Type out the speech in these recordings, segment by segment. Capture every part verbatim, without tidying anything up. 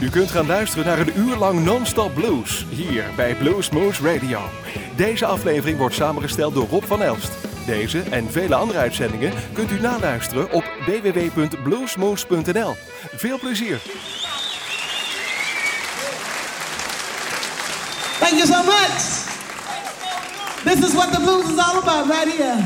U kunt gaan luisteren naar een uur lang non-stop blues, hier bij Bluesmoose Radio. Deze aflevering wordt samengesteld door Rob van Elst. Deze en vele andere uitzendingen kunt u naluisteren op w w w punt bluesmoose punt n l. Veel plezier! Thank you so much. This is what the blues is all about right here.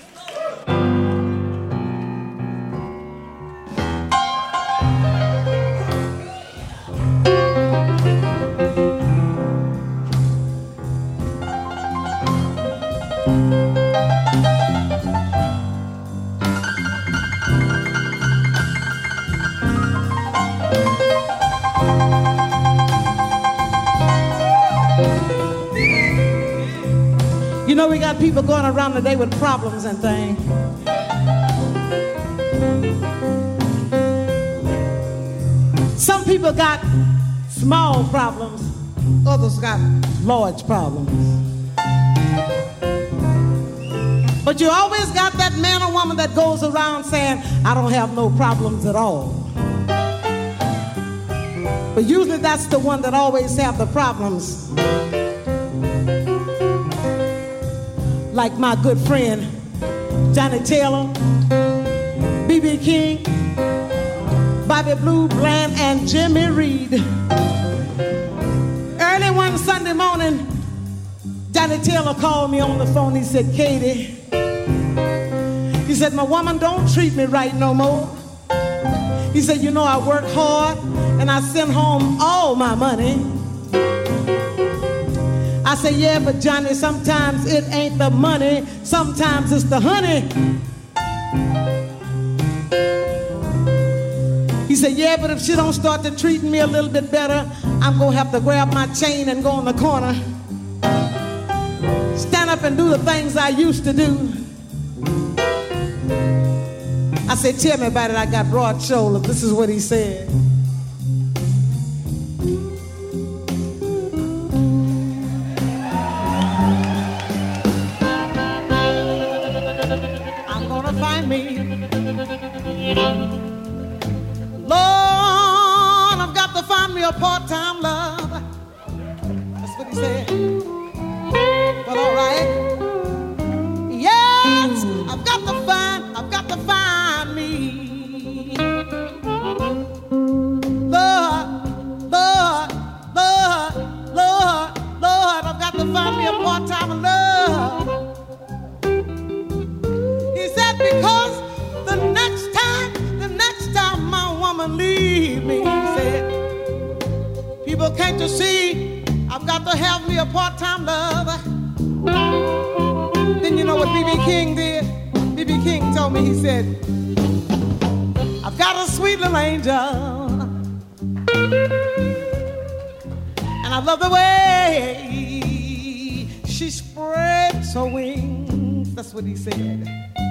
You know, we got people going around today with problems and things. Some people got small problems, others got large problems. But you always got that man or woman that goes around saying, I don't have no problems at all. But usually that's the one that always have the problems. Like my good friend, Johnny Taylor, B B King, Bobby Blue Bland, and Jimmy Reed. Early one Sunday morning, Johnny Taylor called me on the phone. He said, Katie, he said, my woman don't treat me right no more. He said, you know, I work hard and I send home all my money. I say, yeah, but Johnny, sometimes it ain't the money, sometimes it's the honey. He said, yeah, but if she don't start to treat me a little bit better, I'm gonna have to grab my chain and go in the corner, stand up and do the things I used to do. I said, tell me about it, I got broad shoulders. This is what he said. Lord, I've got to find me a part-time love. That's what he said. But all right. Yes, I've got to find, I've got to find me. Lord, Lord, Lord, Lord, Lord, I've got to find me a part-time love. He said because the next time, the next time my woman leave me, he said, people can't you see, I've got to have me a part-time lover. Then you know what B B King did? B B King told me, he said, I've got a sweet little angel, and I love the way she spreads her wings. That's what he said.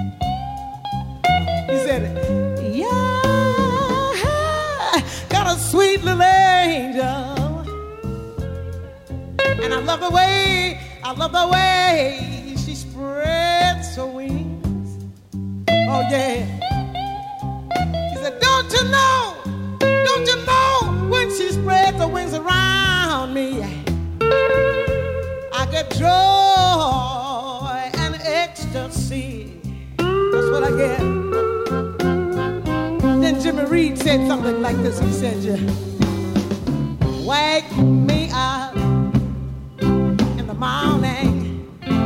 He said, yeah, got a sweet little angel. And I love the way, I love the way she spreads her wings. Oh, yeah. He said, don't you know, don't you know, when she spreads her wings around me, I get joy and ecstasy. That's what I get. Then Jimmy Reed said something like this. He said, you wake me up in the morning.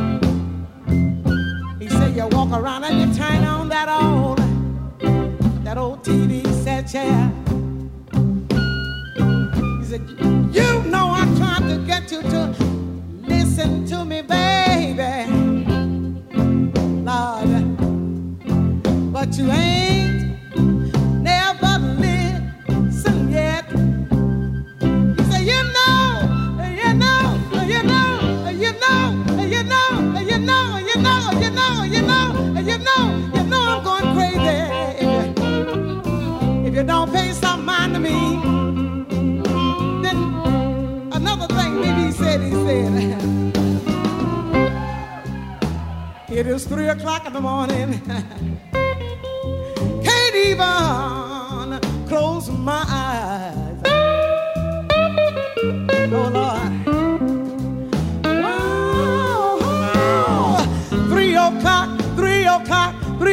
He said, you walk around and you turn on that old, that old T V set chair. He said, you know I'm trying to get you to listen to me, baby. Lord, but you ain't never listen yet. You say, you know, you know, you know, you know, you know, you know, you know, you know, you know, you know, you know I'm going crazy if you, if you don't pay some mind to me. Then another thing maybe he said, he said, it is three o'clock in the morning. Can't even close my eyes.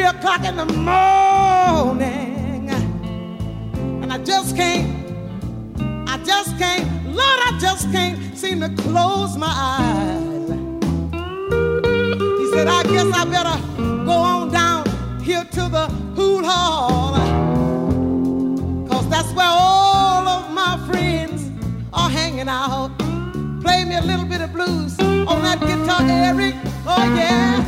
o'clock in the morning, and I just can't, I just can't, Lord, I just can't seem to close my eyes. He said, I guess I better go on down here to the pool hall, 'cause that's where all of my friends are hanging out. Play me a little bit of blues on that guitar, Eric. Oh yeah.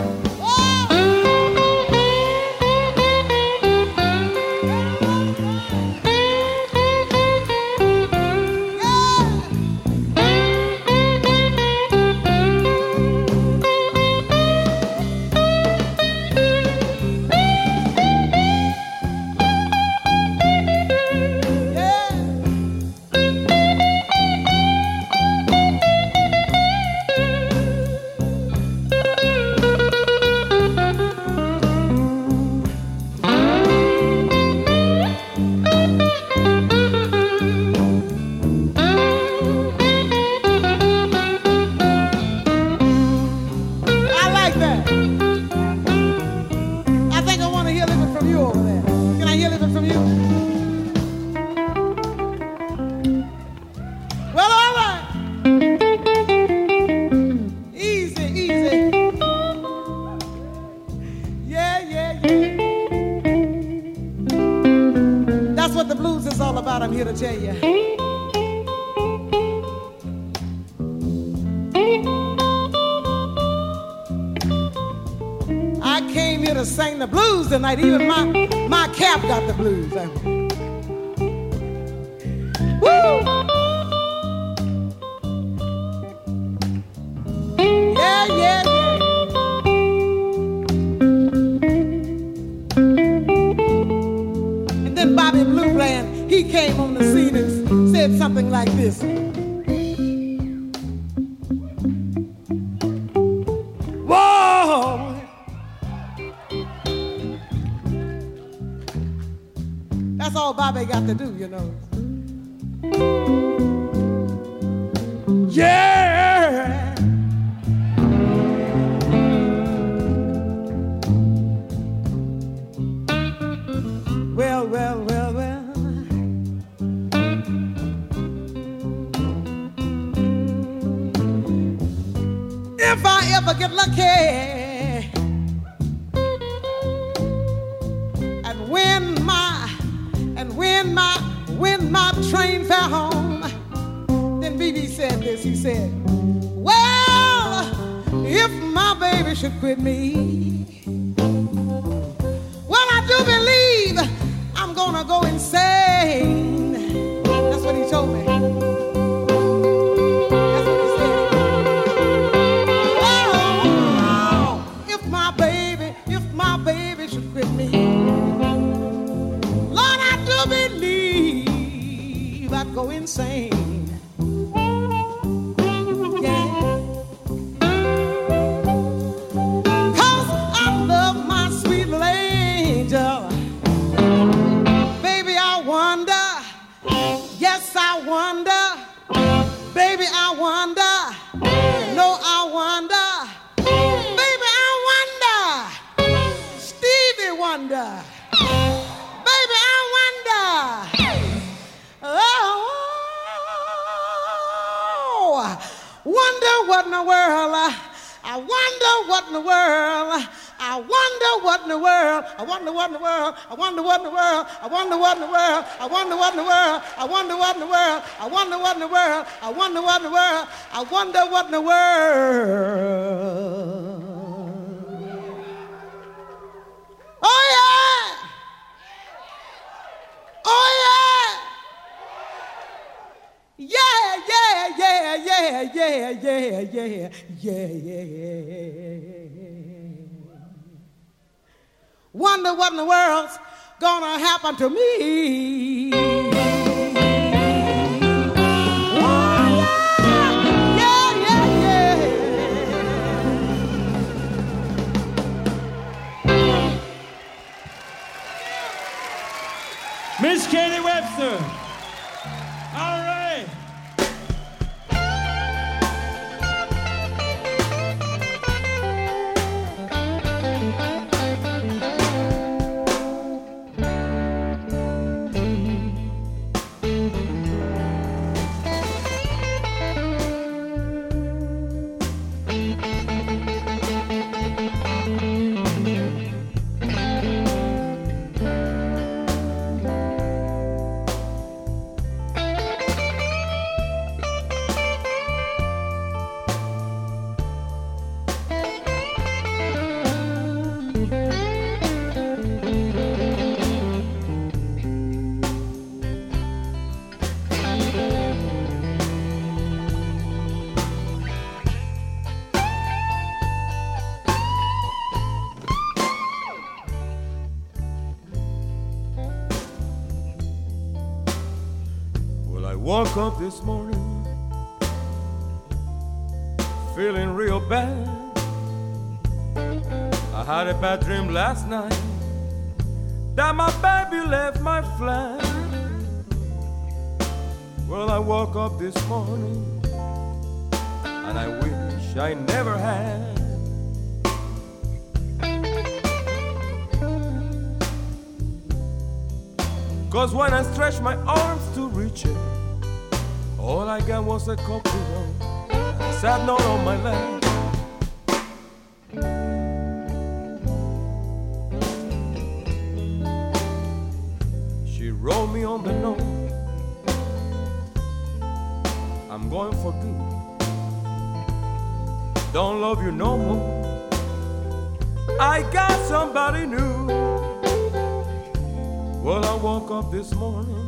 I'm here to tell you. I came here to sing the blues tonight. Even my, my cap got the blues. Woo! Yeah, yeah, yeah. And then Bobby Blue Bland, he came on the scene and said something like this. Whoa! That's all Bobby got to do, you know. Yeah! Well, well, well, well. If I ever get lucky and win my and win my win my train fare home, then B B said this. He said, "Well, if my baby should quit me, well, I do believe I'm gonna go insane." That's what he told me. Go insane. Yeah. 'Cause I love my sweet little angel. Baby, I wonder. Yes, I wonder. Baby, I wonder. No, I wonder. Baby, I wonder. Stevie wonder. Baby, I wonder. Oh, wonder what in the world, I wonder what in the world, I wonder what in the world, I wonder what in the world, I wonder what in the world, I wonder what in the world, I wonder what in the world, I wonder what in the world, I wonder what in the world, I wonder what in the world, I wonder what in the world. Oh yeah! Oh yeah! Yeah, yeah, yeah, yeah, yeah, yeah, yeah, yeah, yeah. Wonder what in the world's gonna happen to me. Oh, yeah, yeah, yeah, yeah. Miss Katie Webster. All right. woke up this morning feeling real bad. I had a bad dream last night that my baby left my flat. Well, I woke up this morning and I wish I never had. Cause when I stretched my arms to reach it, all I got was a cold pillow and a sad note on my leg. She wrote me on the note, I'm going for good, don't love you no more, I got somebody new. Well, I woke up this morning,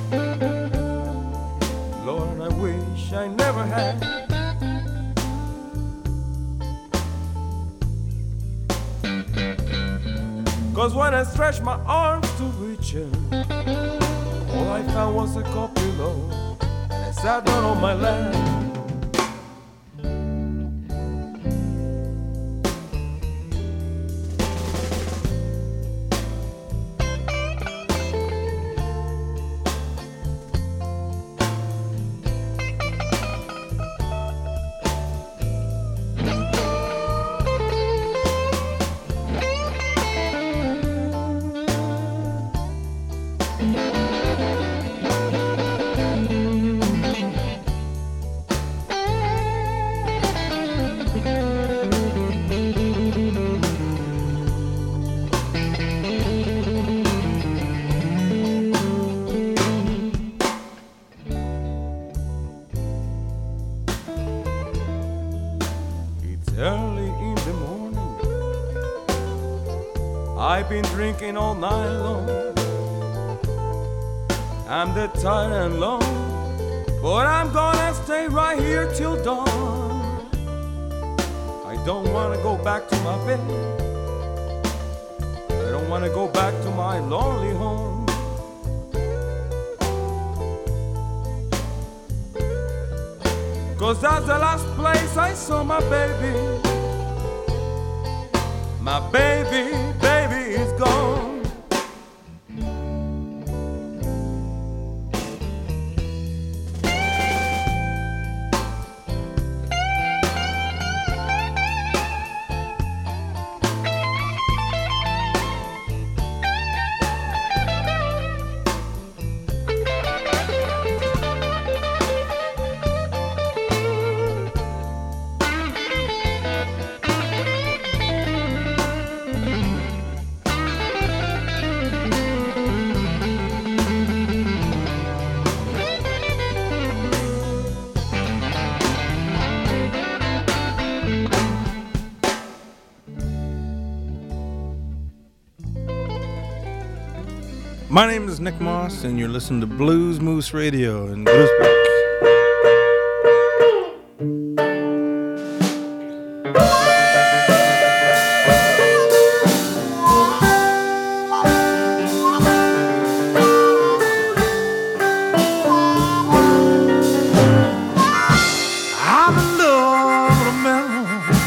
Lord, I wish I never had. Cause when I stretched my arms to reach her, all I found was a cold pillow and I sat down on my lap. Early in the morning, I've been drinking all night long. I'm dead tired and long, but I'm gonna stay right here till dawn. I don't wanna go back to my bed, I don't wanna go back to my lonely home. Cause that's the last place I saw my baby. My baby, baby is gone. My name is Nick Moss, and you're listening to Blues Moose Radio in Groesbeek. I'm in love with a man.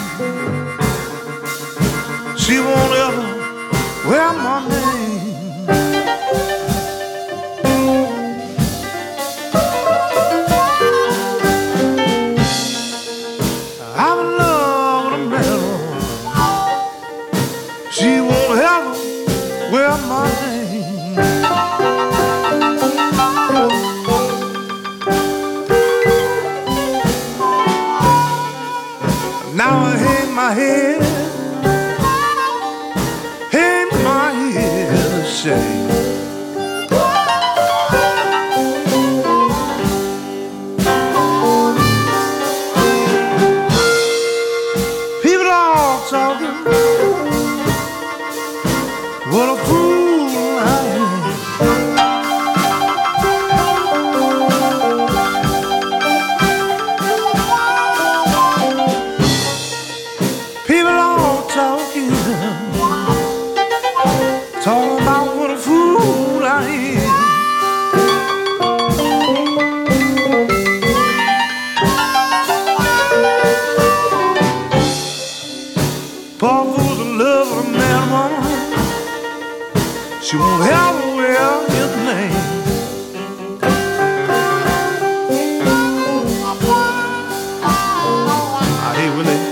She won't ever wear my name. I'm in love with a man. She won't ever wear my name. Now I hang my head, hang my head ashamed. People all talking, what a fool I am. People all talking, talking about what a fool I am. she won't ever wear his name. Ah, hey, Willie.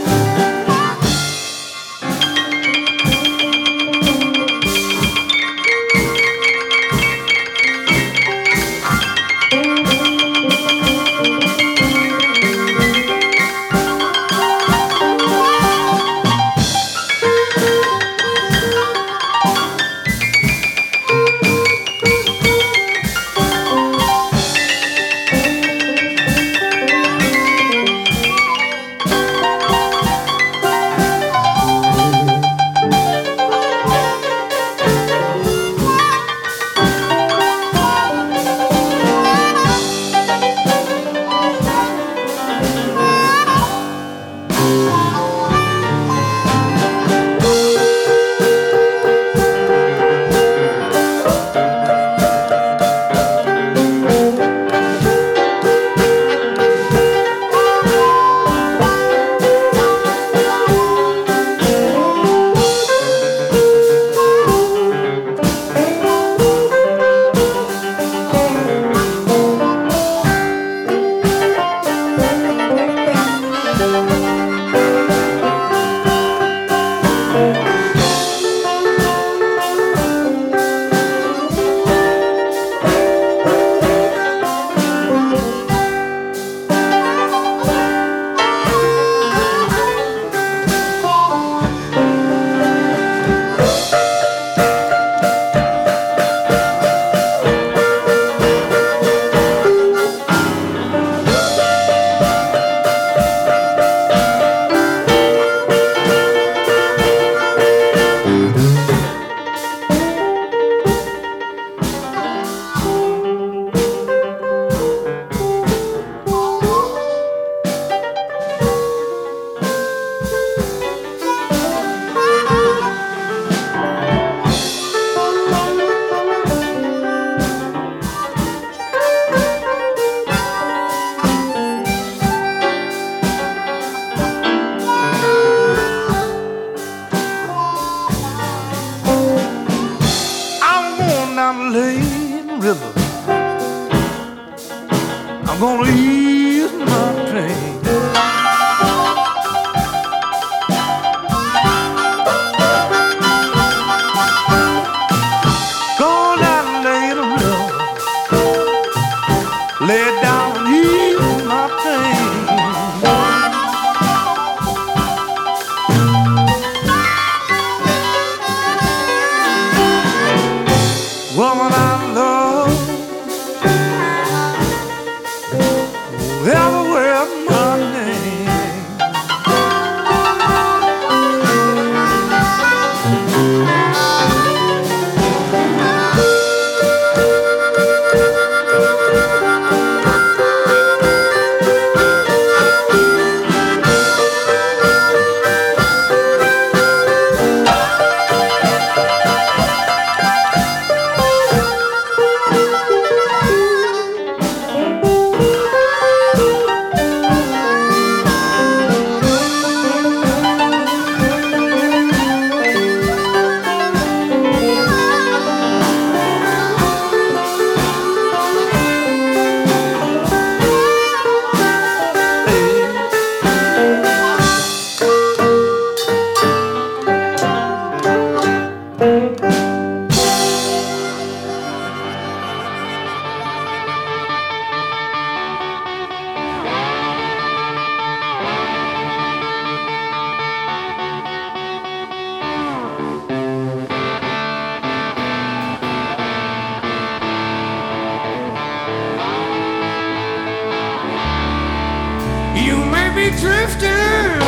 Drifting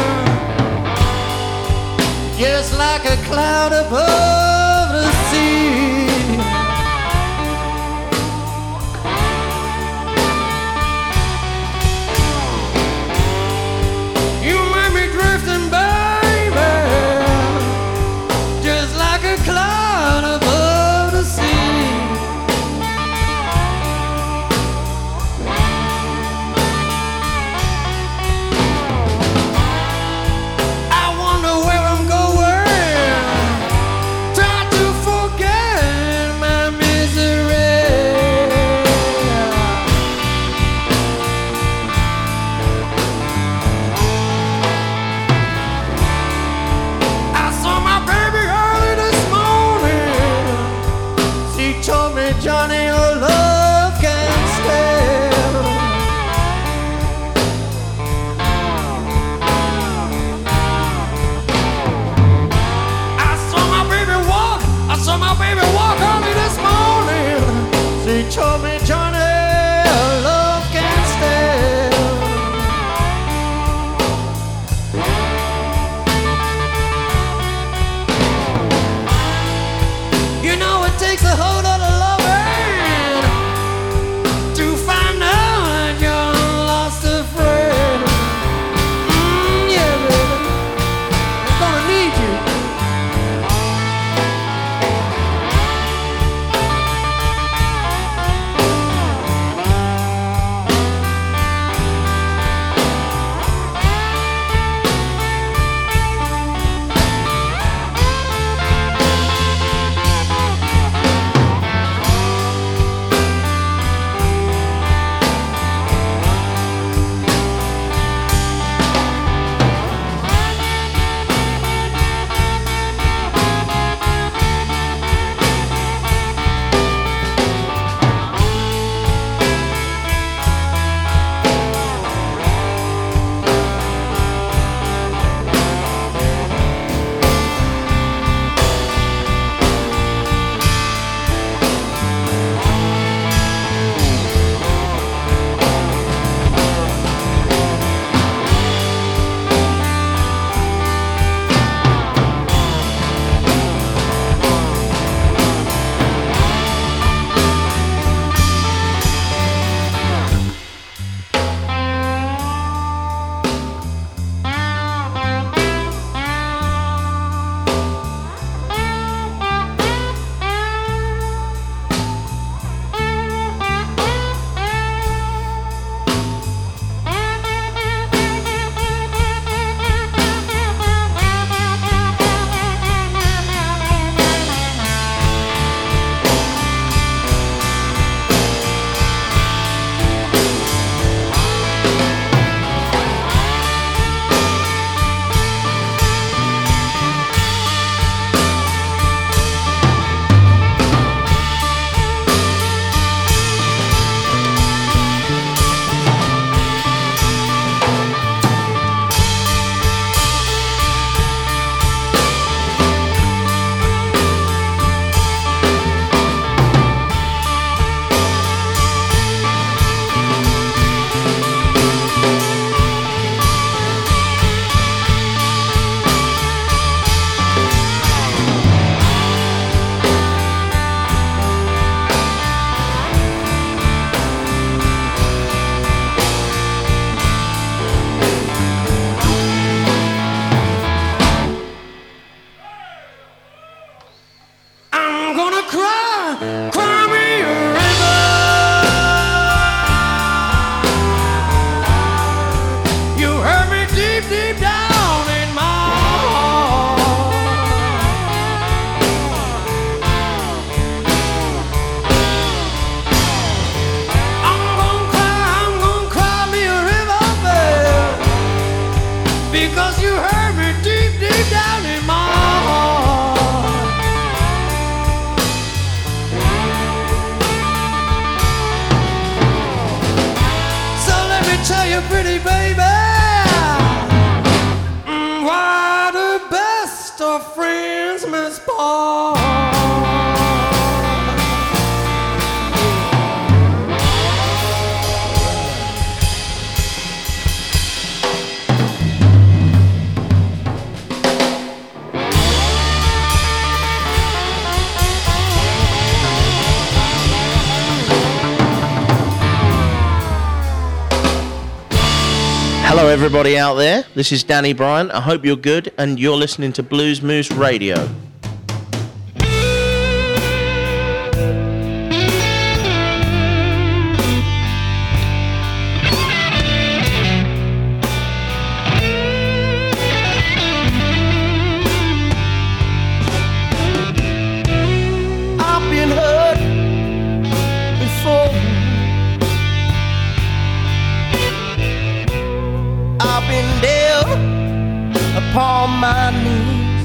just like a cloud above the sea. You might be drifting, baby, just like a cloud above the sea. I wonder where I'm going. Tell walk on me this morning. She told me, Johnny, love can't stand. You know it takes a whole lot of loving to find out you're lost a friend. Mm, yeah, baby, I'm gonna need you. Hello everybody out there, this is Danny Bryant. I hope you're good and you're listening to Blues Moose Radio. I've been hurt before. I've been down upon my knees.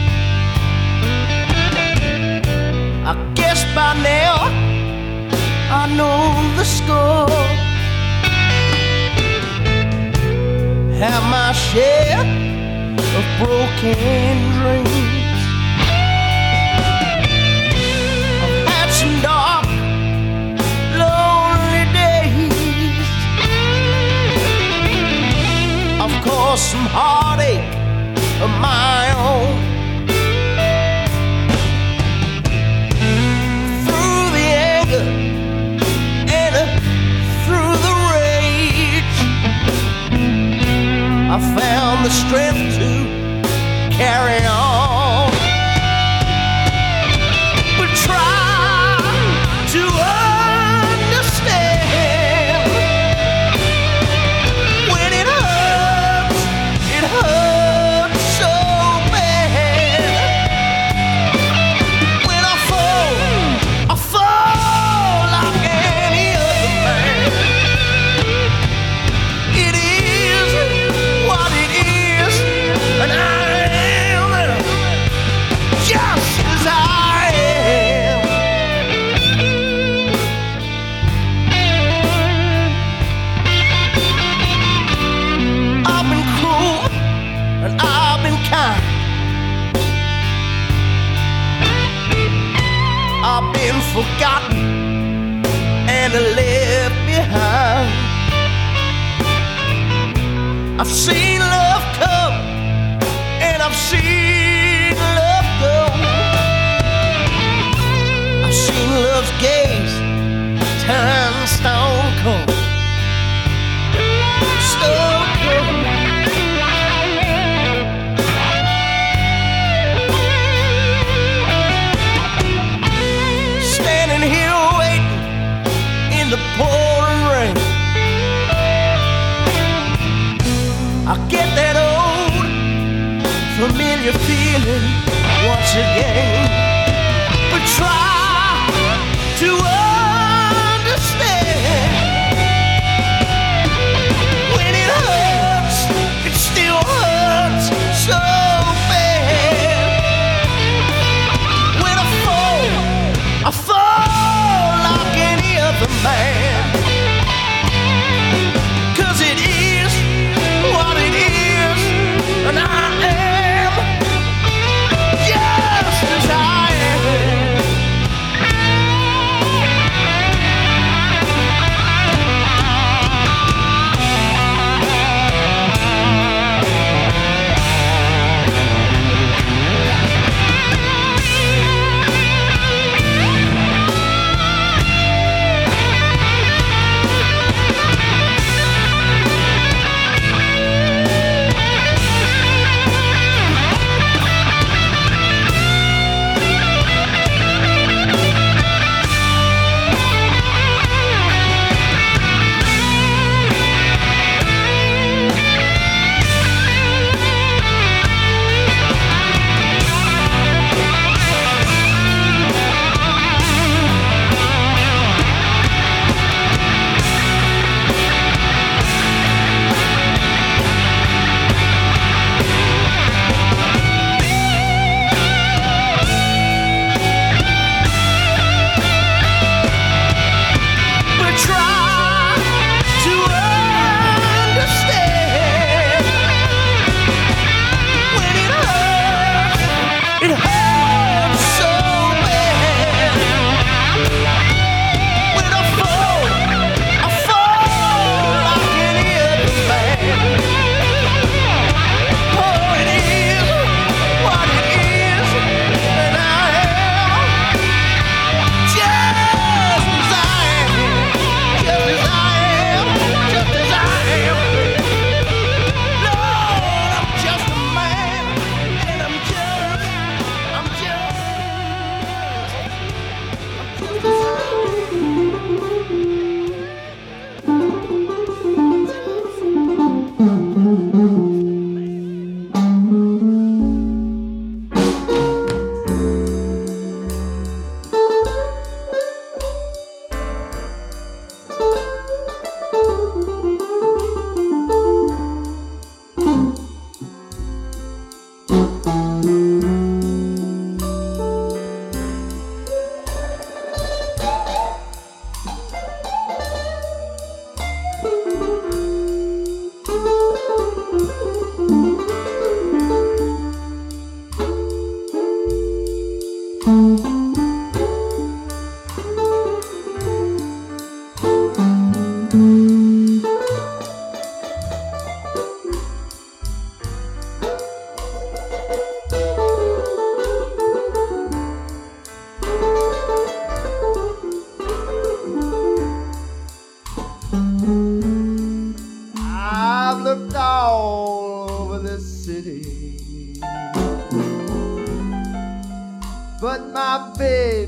I guess by now I know the score. Have my share of broken dreams. I found the strength to carry on. But try to understand when it hurts, it hurts so bad. When I fall, I fall like any other man. It is what it is, and I am just as I am. I've been cruel and I've been kind. I've been forgotten and left behind. I've seen love come and I've seen love go. I've seen love's gaze turn stone cold. Stone cold. Standing here waiting in the pouring rain, I get that old familiar feeling once again. But try to understand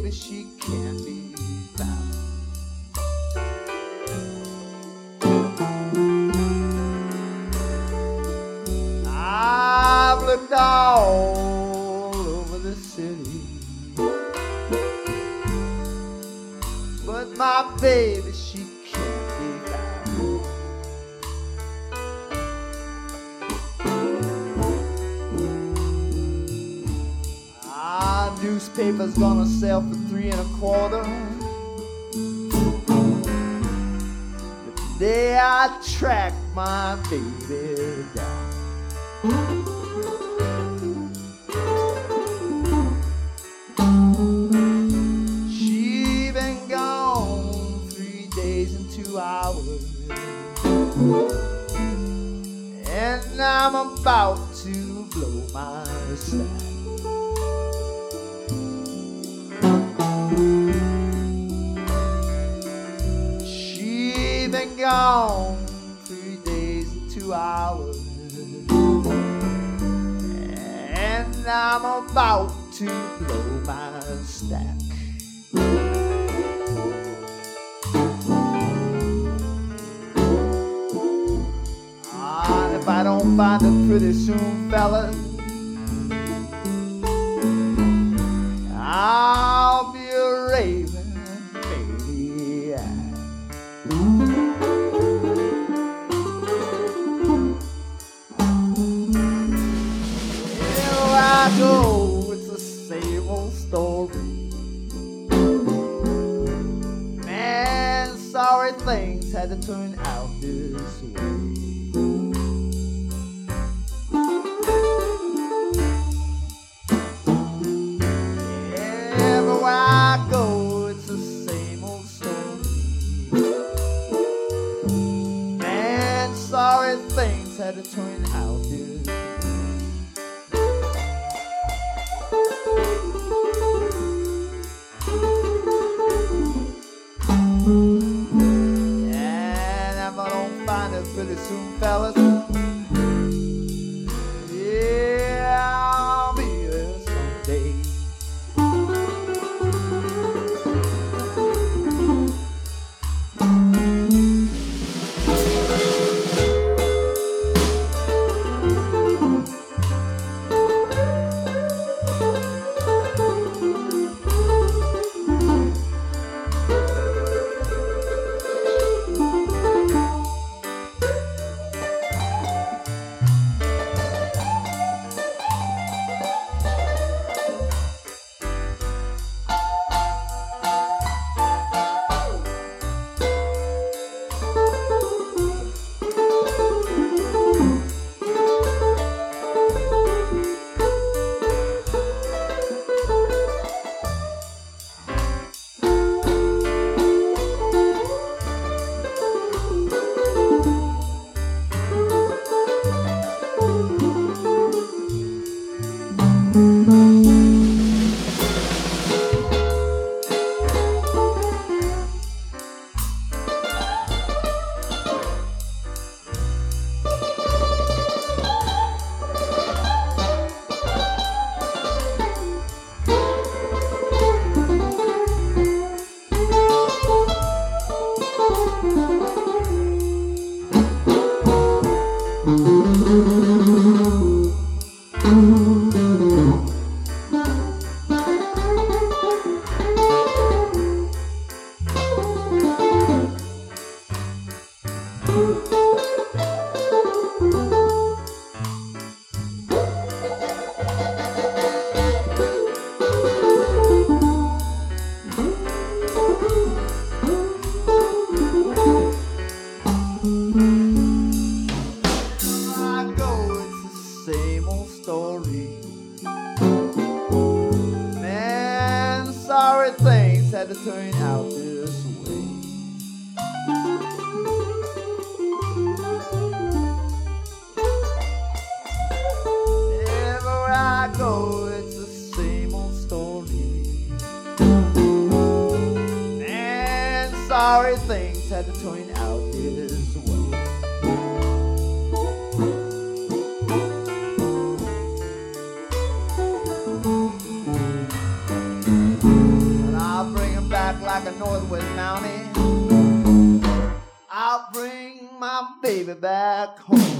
baby, she can't be found. I've looked all over the city, but my baby, she can't be found. Ah, newspaper's gonna sell for three and a quarter. The day I track my baby down. She been gone three days and two hours, and I'm about to blow my stack. She been gone three days and two hours, and I'm about to blow my stack. Ah, and if I don't find her pretty soon, fellas, I'll be a raving maniac. Here I go, it's the same old story. Man, sorry things had to turn out this way. Everywhere I go, it's the same old story. Man, sorry things had to turn out this way. And if I don't find it pretty soon, fellas, yeah, I'll be there someday. Had to turn out this way. Everywhere I go, it's the same old story. And sorry things had to turn out this way. like a northwest mountain. I'll bring my baby back home.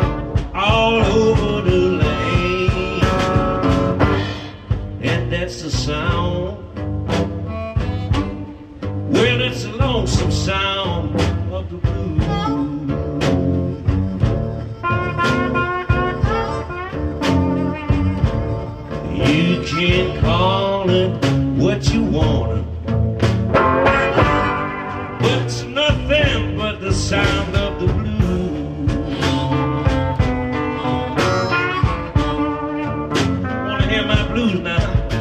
That's the sound. Well, it's a lonesome sound of the blues. You can call it what you want, but it's nothing but the sound of the blues. Wanna hear my blues now?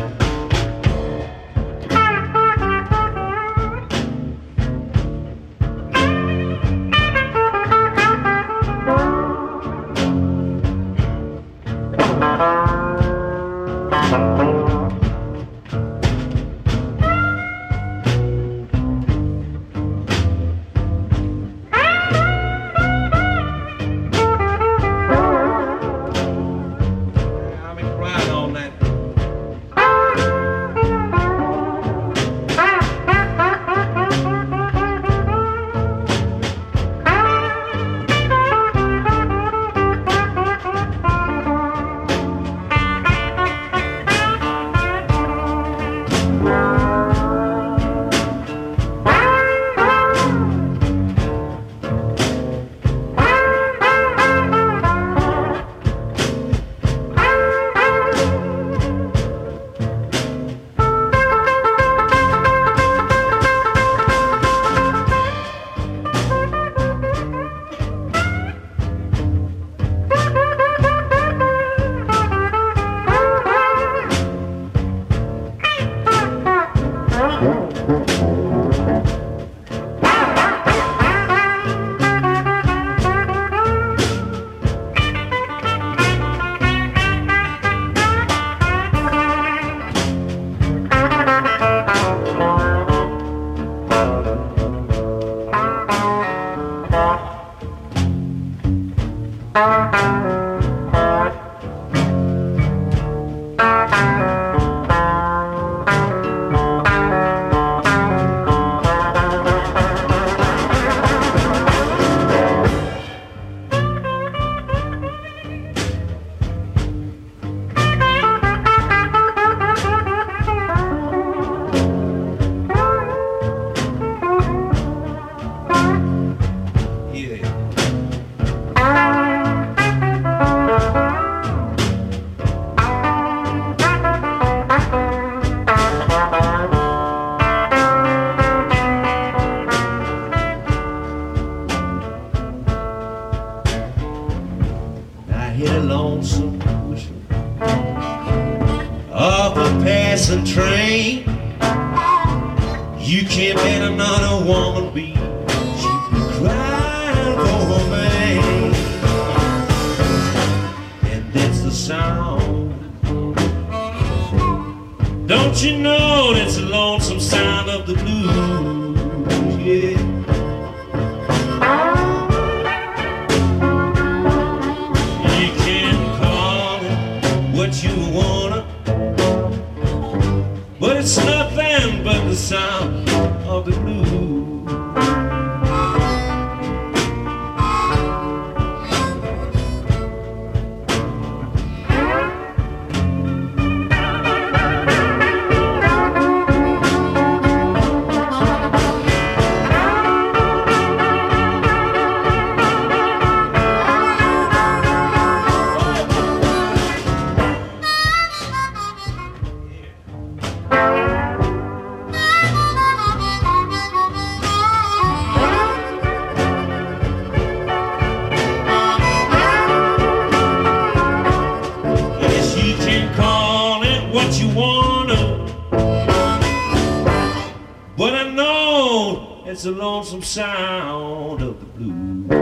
It's a lonesome sound of the blues.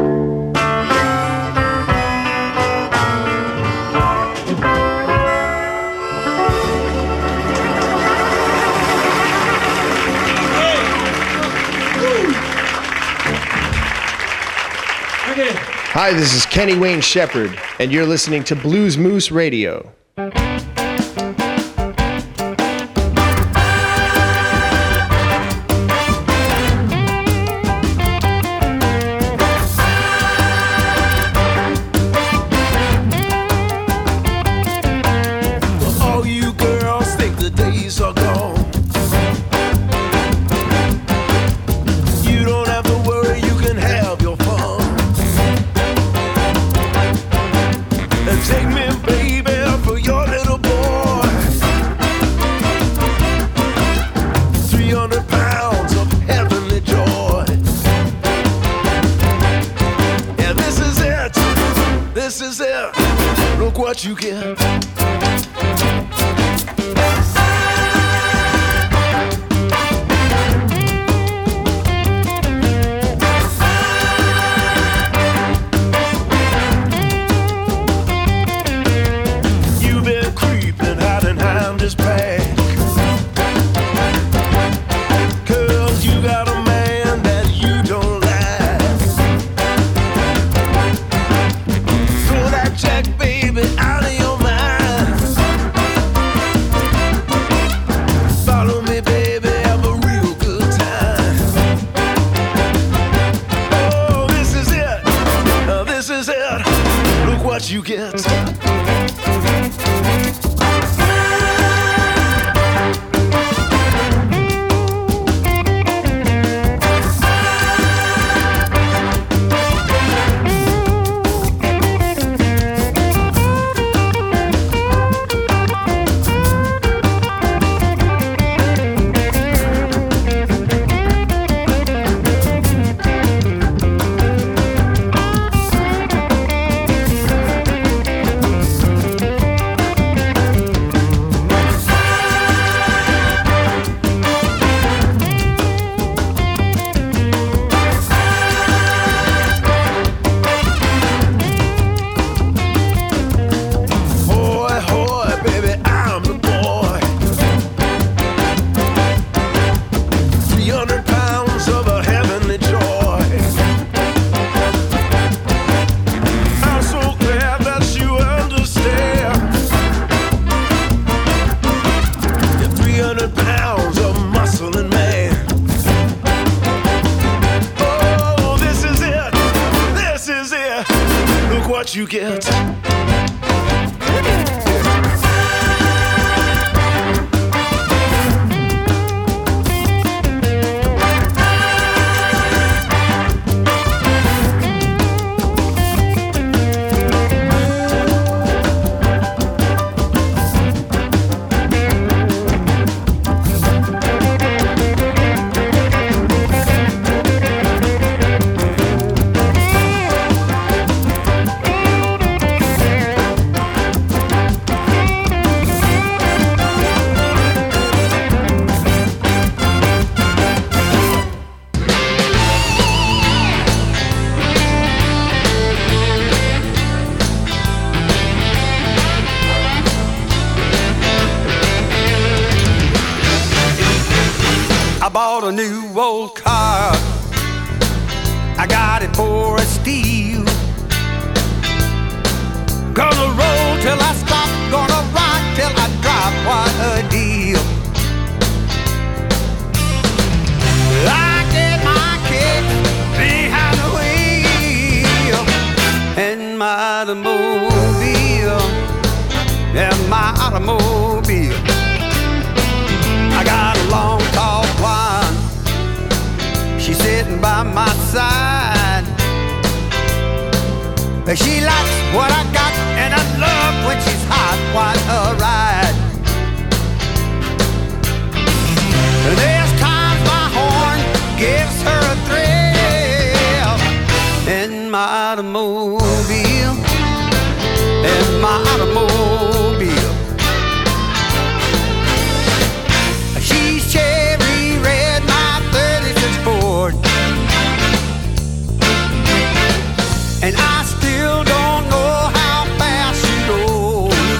Hi, this is Kenny Wayne Shepherd, and you're listening to Blues Moose Radio. All you girls think the days are what you get. You've been creeping out and I'm just back. Cause you got a man that you don't like. Throw that check, baby, out of your mind. Follow me, baby, have a real good time. Oh, this is it, uh, this is it. Look what you get. What you get. I bought a new old car. I got it for a steal. Gonna roll till I stop, gonna rock till I drop. What a deal. I get my kick behind the wheel in my automobile, in my automobile. I got a long, tall blonde. She's sitting by my side. She likes what I got, and I love when she's hot. What a ride. There's times my horn gives her a thrill in my automobile, in my automobile. She's cherry red, my thirty-six Ford, and I still don't know how fast she goes.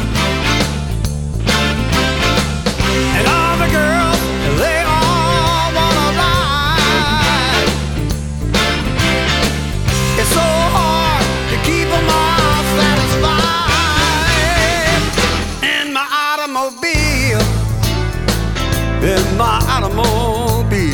And all the girls, they all wanna ride. It's so hard to keep them all satisfied in my automobile, in my automobile.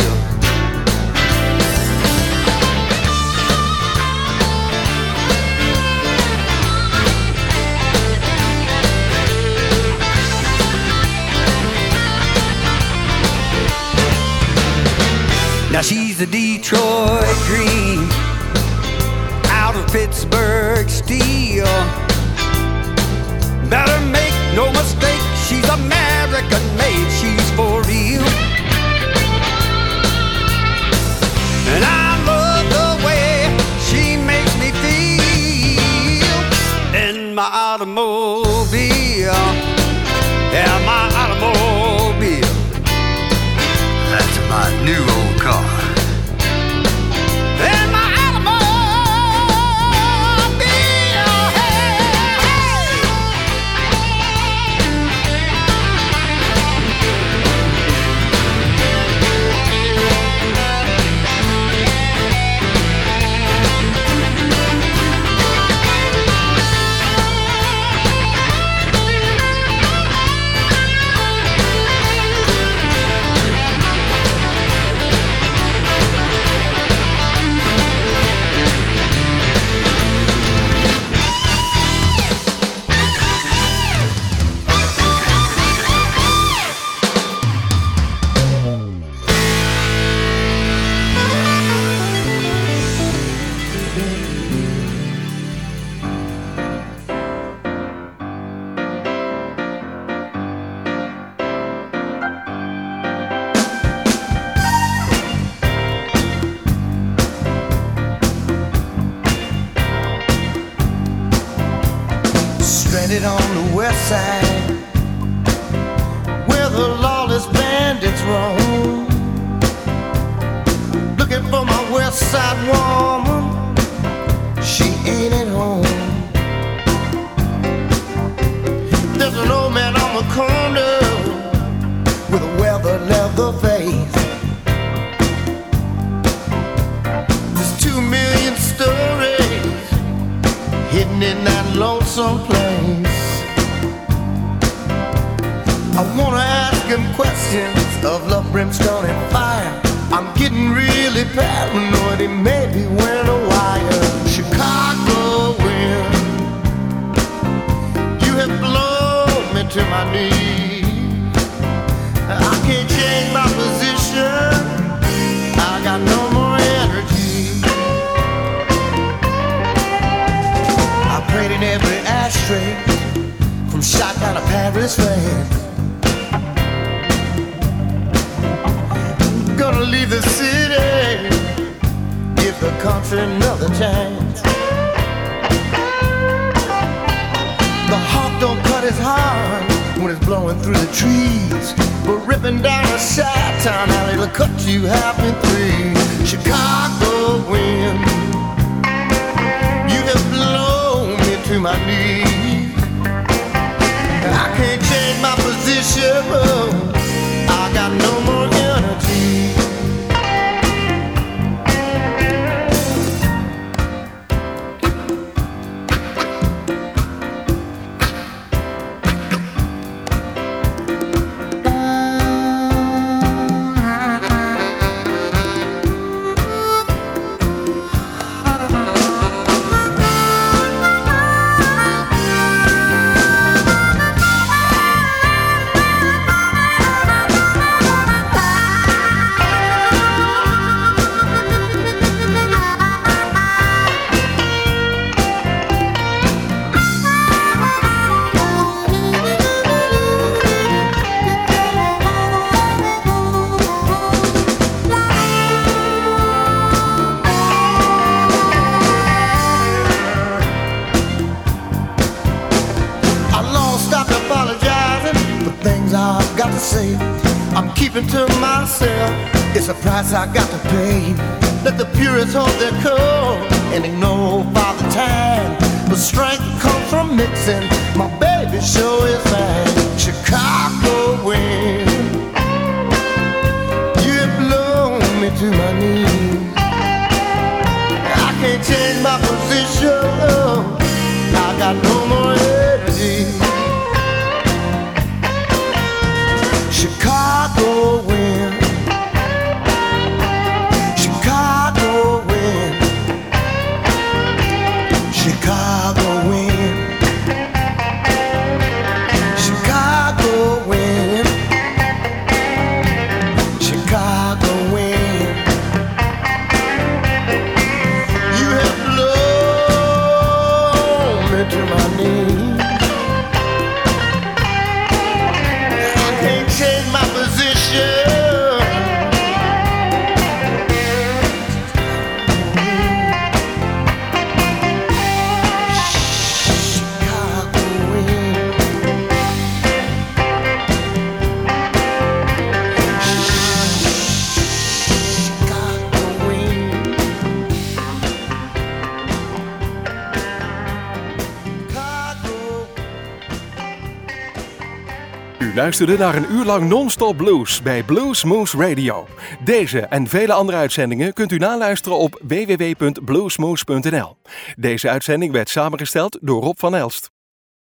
Now she's a Detroit Green, out of Pittsburgh Steel. Better make no mistake, she's American made, she's for real. And I love the way she makes me feel in my automobile. new old car. And my automobile, hey, stranded on the west side, where the lawless bandits roam, looking for my west side woman. She ain't at home. There's an old man on the corner with a weathered leather face. There's two million stories hidden in that lonesome place. I wanna ask him questions of love, brimstone, and fire. I'm getting really paranoid, he may be wearing a wire. Chicago wind, you have blown me to my knees. I can't change my position, I got no more energy. I prayed in every ashtray from shot down to Paris rain. Gonna leave the city, give the country another chance. The hawk don't cut his heart when it's blowing through the trees, but ripping down a Chi-Town alley will cut you half in three. Chicago wind, you have blown me to my knees. I can't change my position, oh, I got no more energy. I'm keeping to myself, it's a price I got to pay. Let the purists hold their cold and ignore Father Time. But strength comes from mixing, my baby sure is fine. Chicago wind, you have blown me to my knees. I can't change my position, oh, I got no more energy. Chicago wind, Chicago wind, Chicago wind, Chicago wind, Chicago wind. You have blown me to my knees. luisterde naar een uur lang non-stop blues bij Blues Moose Radio. Deze en vele andere uitzendingen kunt u naluisteren op w w w punt bluesmoose punt n l. Deze uitzending werd samengesteld door Rob van Elst.